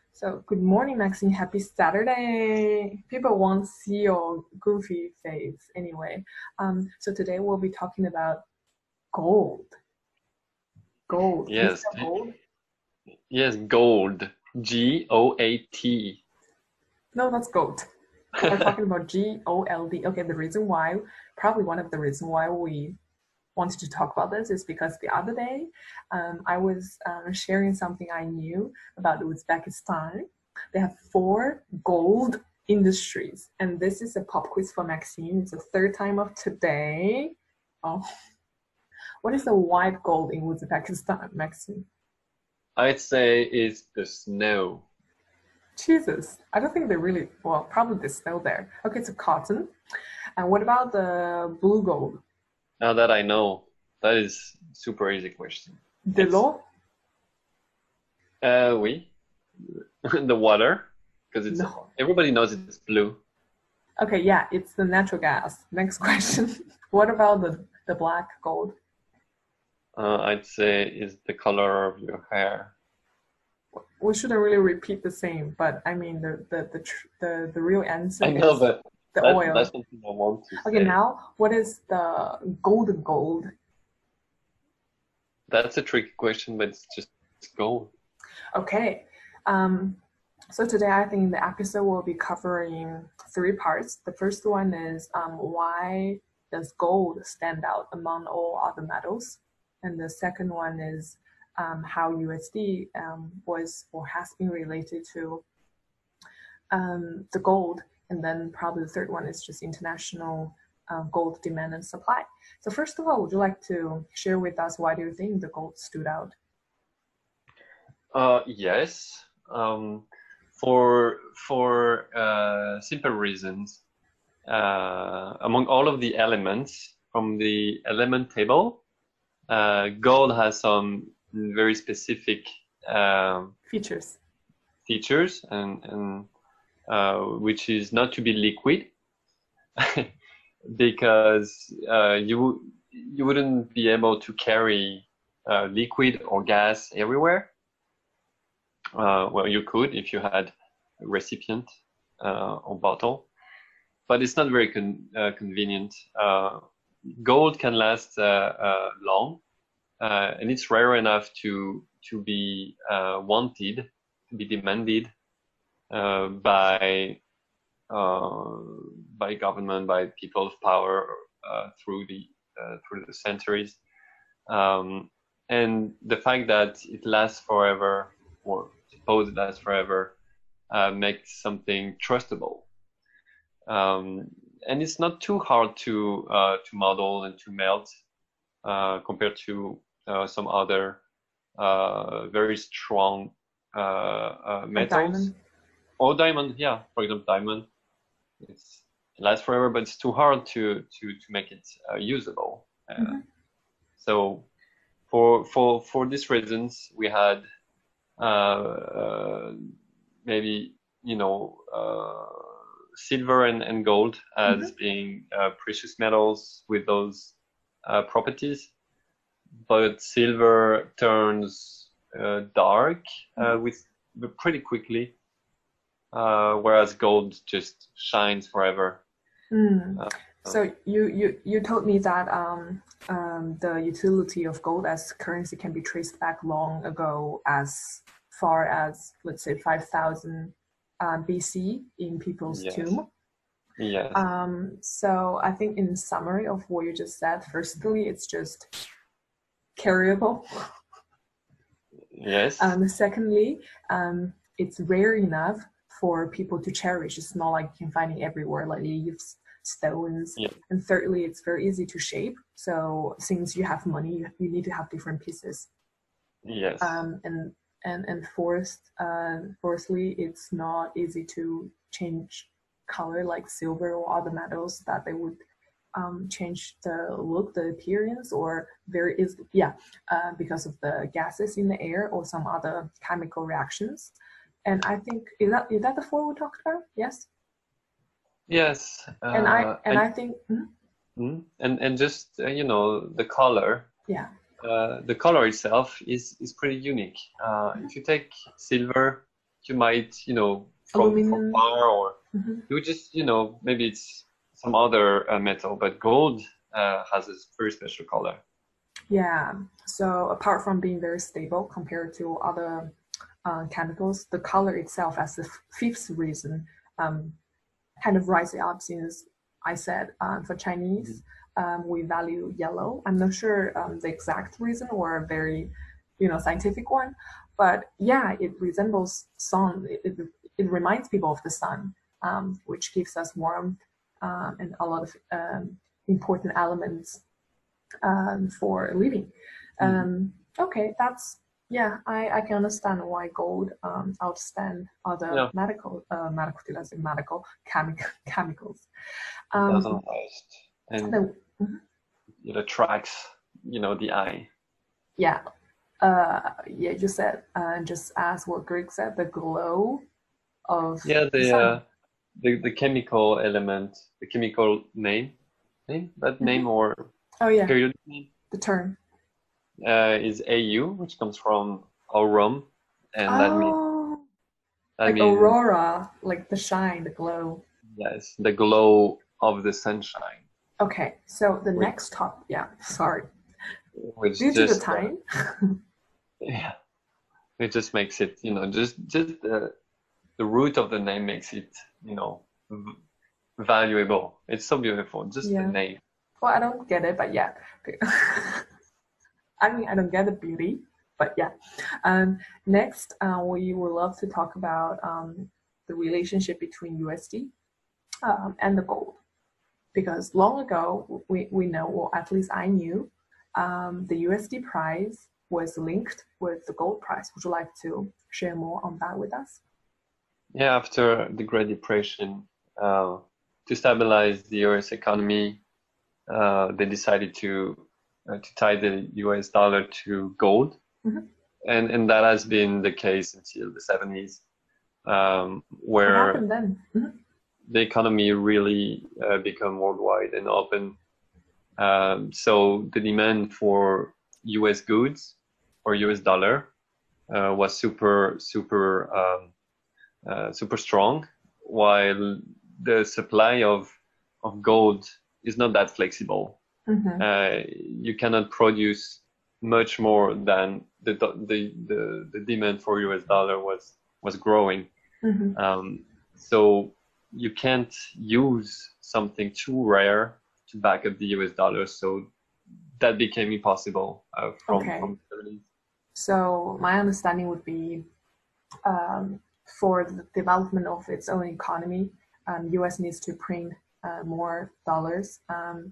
So, good morning, Maxine. Happy Saturday. People won't see your goofy face anyway. So today we'll be talking about gold. Gold. Can you Yes, spell gold? yes, gold. Goat. No, that's gold. We're talking about GOLD. Okay, probably one of the reasons why we wanted to talk about this is because the other day I was sharing something I knew about Uzbekistan. They have four gold industries, and this is a pop quiz for Maxine. It's the third time of today. Oh, what is the white gold in Uzbekistan, Maxine? I'd say it's the snow. Jesus, I don't think they really, well, probably the snow there. Okay, so cotton. And what about the blue gold? Now that I know, that is super easy question. De It's l'eau? oui, the water, because it's No. everybody knows it's blue. Okay, yeah, it's the natural gas. Next question. What about the black gold? I'd say is the color of your hair. We shouldn't really repeat the same, but I mean the real answer I know, is but the that's oil. something I want to Okay, say. now what is the golden gold? That's a tricky question, but it's just gold. Okay, um, so today I think the episode will be covering three parts. The first one is why does gold stand out among all other metals, and the second one is how USD was or has been related to the gold, and then probably the third one is just international gold demand and supply. So first of all, would you like to share with us why do you think the gold stood out? Yes. For simple reasons. Among all of the elements from the element table, gold has some very specific Features. features, and which is not to be liquid, because you wouldn't be able to carry liquid or gas everywhere. Well, you could if you had a recipient or bottle, but it's not very convenient. Gold can last long, and it's rare enough to be wanted, to be demanded uh, by uh, by government, by people of power through the centuries. Um, and the fact that it lasts forever, or suppose it lasts forever, makes something trustable. Um, and it's not too hard to model and to melt compared to some other very strong Like metals diamond. or diamond. Yeah, for example, diamond. It lasts forever, but it's too hard to make it usable. Mm-hmm. So for these reasons, we had maybe silver and gold as Mm-hmm. being precious metals with those properties, but silver turns dark Mm-hmm. with pretty quickly, whereas gold just shines forever. Mm. Uh, So you told me that the utility of gold as currency can be traced back long ago, as far as let's say 5,000 BC in people's yes, tomb. yes, So I think in summary of what you just said, firstly, it's just carryable. yes, Secondly, it's rare enough for people to cherish. It's not like you can find it everywhere, like leaves, stones. yeah, And thirdly, it's very easy to shape. So since you have money, you need to have different pieces. yes, Um, and fourthly, it's not easy to change color like silver or other metals that they would change the look, the appearance, or very easily, yeah, because of the gases in the air or some other chemical reactions. And I think is that the four we talked about? Yes. yes. And I think And just the color. yeah. The color itself is pretty unique. If you take silver, you might, from Aluminum. far, or Hmm. you would just, maybe it's some other metal, but gold has a very special color. Yeah. So apart from being very stable compared to other chemicals, the color itself, as the fifth reason, um, kind of rising up since I said for Chinese, we value yellow. I'm not sure the exact reason or a very, scientific one, but yeah, it resembles sun. It reminds people of the sun, which gives us warmth and a lot of important elements for living. Mm-hmm. Okay, that's yeah. I can understand why gold outstand other Yeah, chemicals. it doesn't Um, last, and the, it attracts, the eye. yeah, yeah. You said just as what Greg said, the glow of Yeah, the sun. the chemical element, the chemical name, that Hmm. name or Oh yeah, periodic name, the term. is Au, which comes from aurum, and Oh, that like means aurora, like the shine, the glow. yes, the glow of the sunshine, Okay, so the which next top. Yeah, sorry. which Due to the just time. yeah, it just makes it, just the root of the name makes it, v valuable. It's so beautiful, just the Yeah. name. Well, I don't get it, but yeah. I mean, I don't get the beauty, but yeah. Next, we would love to talk about the relationship between USD and the gold. Because long ago, we know, or at least I knew, the USD price was linked with the gold price. Would you like to share more on that with us? Yeah, after the Great Depression, to stabilize the US economy, they decided to tie the US dollar to gold, Mhm. and that has been the case until the 70s, What where happened then? Mhm. the economy really become worldwide and open. So the demand for US goods or US dollar was super strong, while the supply of gold is not that flexible. Mhm. You cannot produce much more than the demand for US dollar was growing. Mhm. Um, so you can't use something too rare to back up the US dollar. So that became impossible Okay. from the 70s. So my understanding would be um, for the development of its own economy, US needs to print more dollars.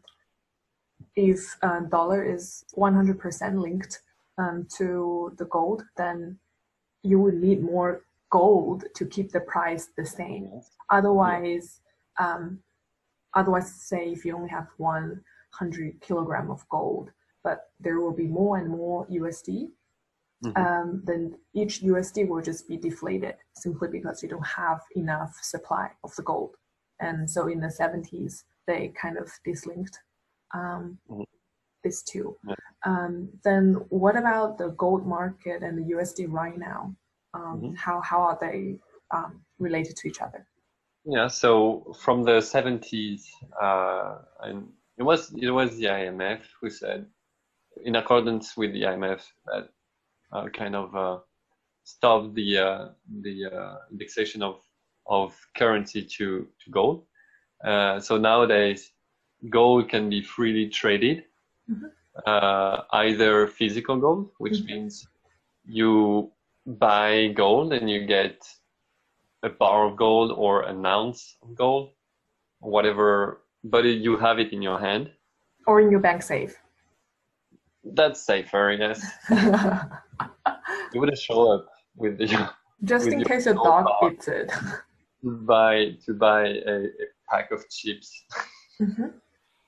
If dollar is 100% linked to the gold, then you would need more gold to keep the price the same. Yes. Yeah. Otherwise, um, otherwise, say if you only have 100 kilogram of gold, but there will be more and more USD, Hmm. then each USD will just be deflated simply because you don't have enough supply of the gold. And so in the 70s, they kind of dislinked um, Hmm. these two. Yeah. Then what about the gold market and the USD right now? Hmm. How are they related to each other? Yeah. So from the 70s, and it was the IMF who said, in accordance with the IMF, that kind of stopped the indexation of currency to gold. So nowadays, gold can be freely traded, Mhm. either physical gold, which Mhm. means you buy gold and you get a bar of gold or an ounce of gold, whatever, but you have it in your hand. Or in your bank safe. That's safer, yes. You wouldn't show up with the Just with in your case your gold dog bar eats it. to buy a pack of chips. Mhm.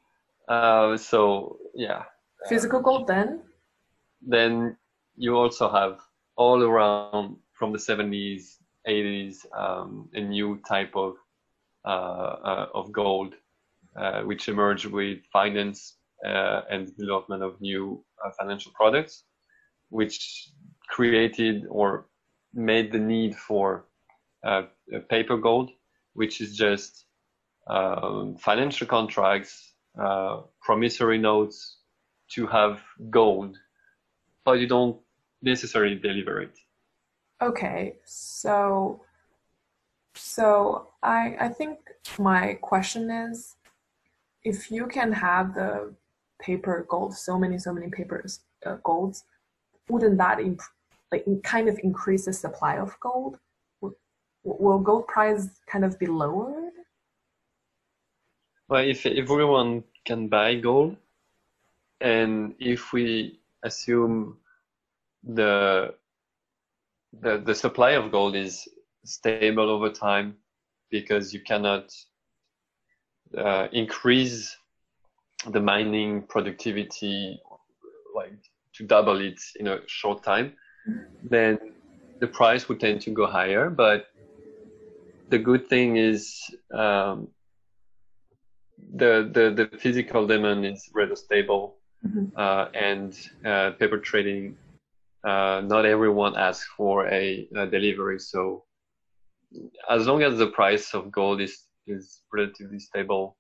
So yeah, Physical gold then? then you also have all around from the 70s, 80s, a new type of gold, which emerged with finance and development of new financial products, which created or made the need for uh, paper gold, which is just financial contracts, promissory notes to have gold, but you don't necessarily deliver it. Okay, I think my question is, if you can have the paper gold, so many papers golds, wouldn't that kind of increase the supply of gold? Will gold price kind of be lowered? Well, if everyone can buy gold, and if we assume the the supply of gold is stable over time, because you cannot increase the mining productivity like to double it in a short time, then the price would tend to go higher. But the good thing is the physical demand is rather stable, and paper trading, not everyone asks for a delivery. So as long as the price of gold is relatively stable,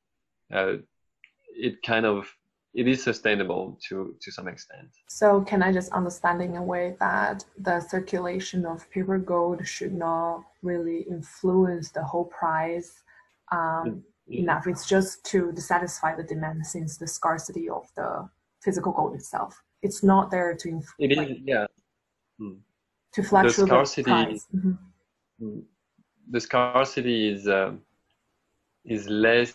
it is sustainable to some extent. So can I just understand in a way that the circulation of paper gold should not really influence the whole price enough? It's just to satisfy the demand, since the scarcity of the physical gold itself. It's not there to It is, yeah. To fluctuate the price. The scarcity is less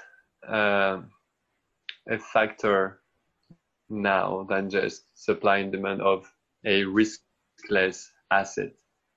a factor now than just supply and demand of a riskless asset.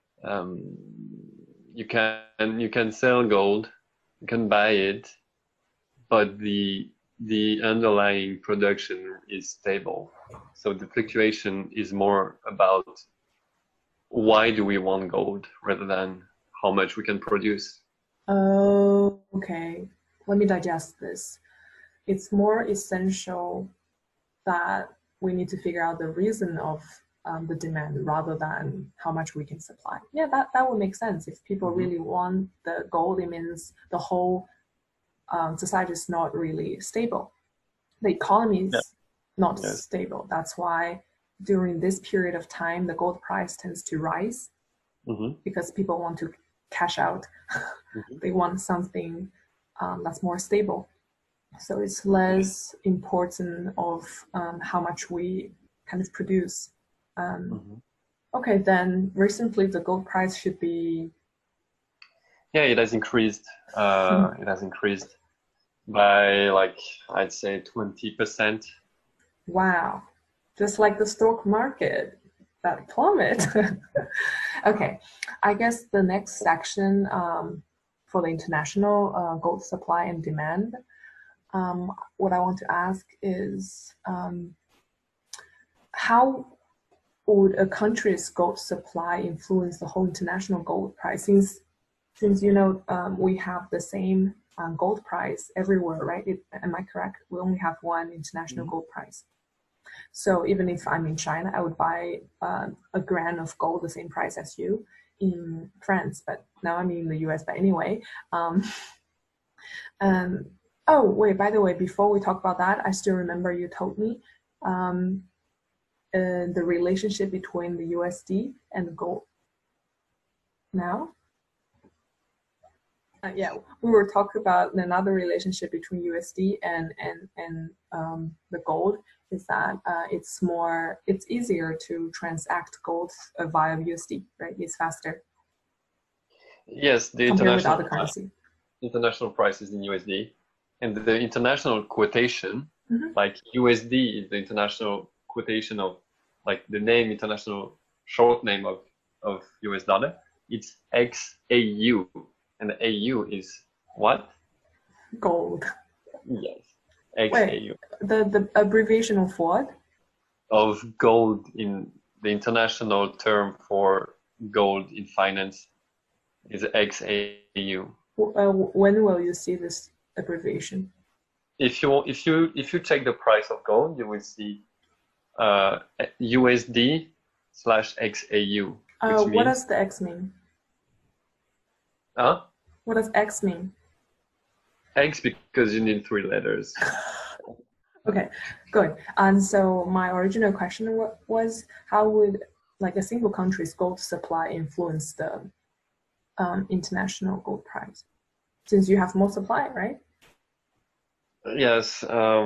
You can sell gold, you can buy it, but the underlying production is stable. So the fluctuation is more about why do we want gold rather than how much we can produce. Oh, okay. Let me digest this. It's more essential that we need to figure out the reason of the demand rather than how much we can supply. Yeah, that would make sense. If people really want the gold, it means the whole society is not really stable. The economy is not stable. That's why during this period of time, the gold price tends to rise because people want to cash out. They want something that's more stable. So it's less important of how much we kind of produce. Okay, then recently the gold price should be. Yeah, it has increased. It has increased by I'd say 20%. Wow, just like the stock market, that plummet. Okay, I guess the next section for the international gold supply and demand. What I want to ask is how would a country's gold supply influence the whole international gold price? Since we have the same gold price everywhere, right? Am I correct? We only have one international gold price. So even if I'm in China, I would buy a gram of gold the same price as you in France, but now I'm in the US. But anyway, oh wait, by the way, before we talk about that, I still remember you told me the relationship between the USD and gold. Now? Yeah, we were talking about another relationship between USD and the gold, is that it's easier to transact gold via USD, right? It's faster. Yes, the international price is in USD, and the international quotation, like USD is the international quotation of, like, the name, international short name of US dollar. It's XAU. And the AU is what? Gold. Yes. XAU. Wait, the abbreviation of what? Of gold. In the international term for gold in finance is XAU. When will you see this abbreviation? If you check the price of gold, you will see USD/XAU. What does the X mean? Huh? What does X mean? X because you need three letters. Okay, good. And so my original question was, how would like a single country's gold supply influence the international gold price? Since you have more supply, right? Yes.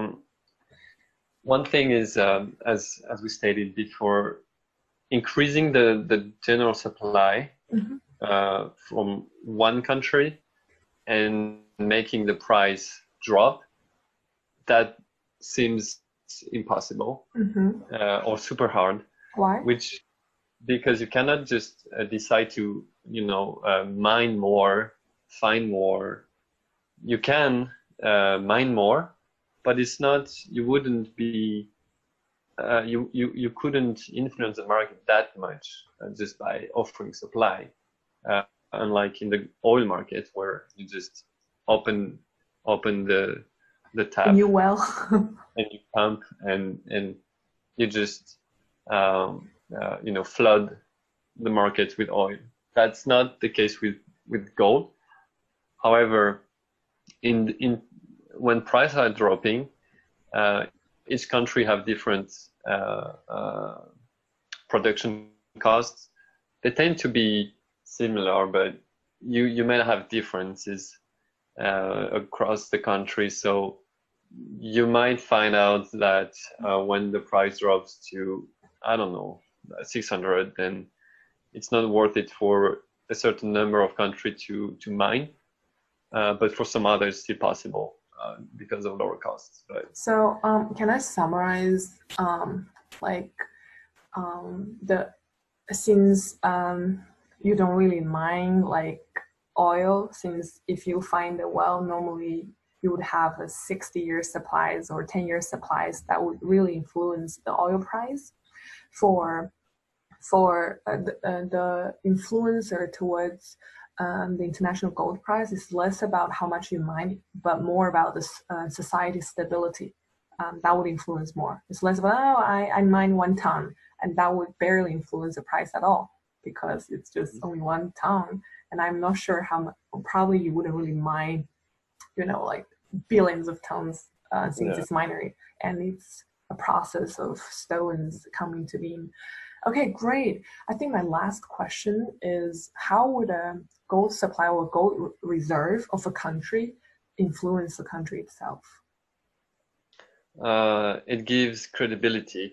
One thing is, as we stated before, increasing the general supply from one country and making the price drop, that seems impossible or super hard. Why? Which because you cannot just decide to mine more, find more. You can mine more, but it's not. You wouldn't be. You couldn't influence the market that much just by offering supply, unlike in the oil market where you just open the tap You well. and you pump and you just flood the market with oil. That's not the case with gold. However, in when prices are dropping, each country have different production costs. They tend to be similar, but you may have differences across the country. So you might find out that when the price drops to, I don't know, 600, then it's not worth it for a certain number of countries to mine. But for some others, it's still possible because of lower costs. But So can I summarize the since you don't really mine like oil, since if you find a well, normally you would have a 60-year supplies or 10-year supplies that would really influence the oil price. For the influencer towards the international gold price is less about how much you mine, but more about the society stability. That would influence more. It's less about, oh, I mine 1 ton, and that would barely influence the price at all because it's just only 1 ton. And I'm not sure how much, probably you wouldn't really mine, like billions of tons since it's minery and it's a process of stones coming to being. Okay, great. I think my last question is, how would a gold supply or gold reserve of a country influence the country itself? it gives credibility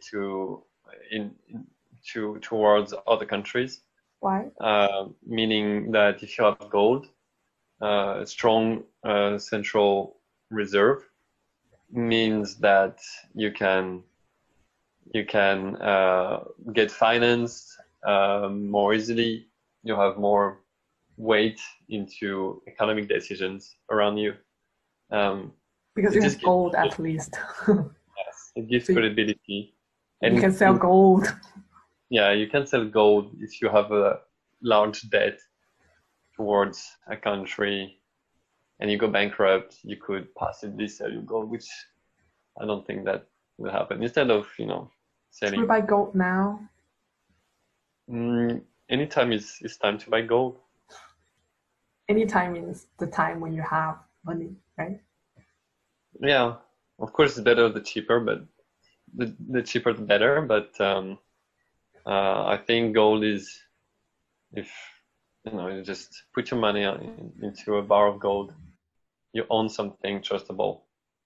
towards other countries. Why? Meaning that if you have gold, a strong central reserve means that you can get financed more easily. You have more weight into economic decisions around you. Because you have gold at least. Yes, it gives credibility. And you can sell gold. Yeah, you can sell gold if you have a large debt towards a country and you go bankrupt, you could possibly sell your gold, which I don't think that will happen. Instead of, selling. Should we buy gold now? Anytime it's time to buy gold. Anytime means the time when you have money, right? Yeah, of course it's better the cheaper, but the cheaper the better. But I think gold is, if you just put your money into a bar of gold, you own something trustable.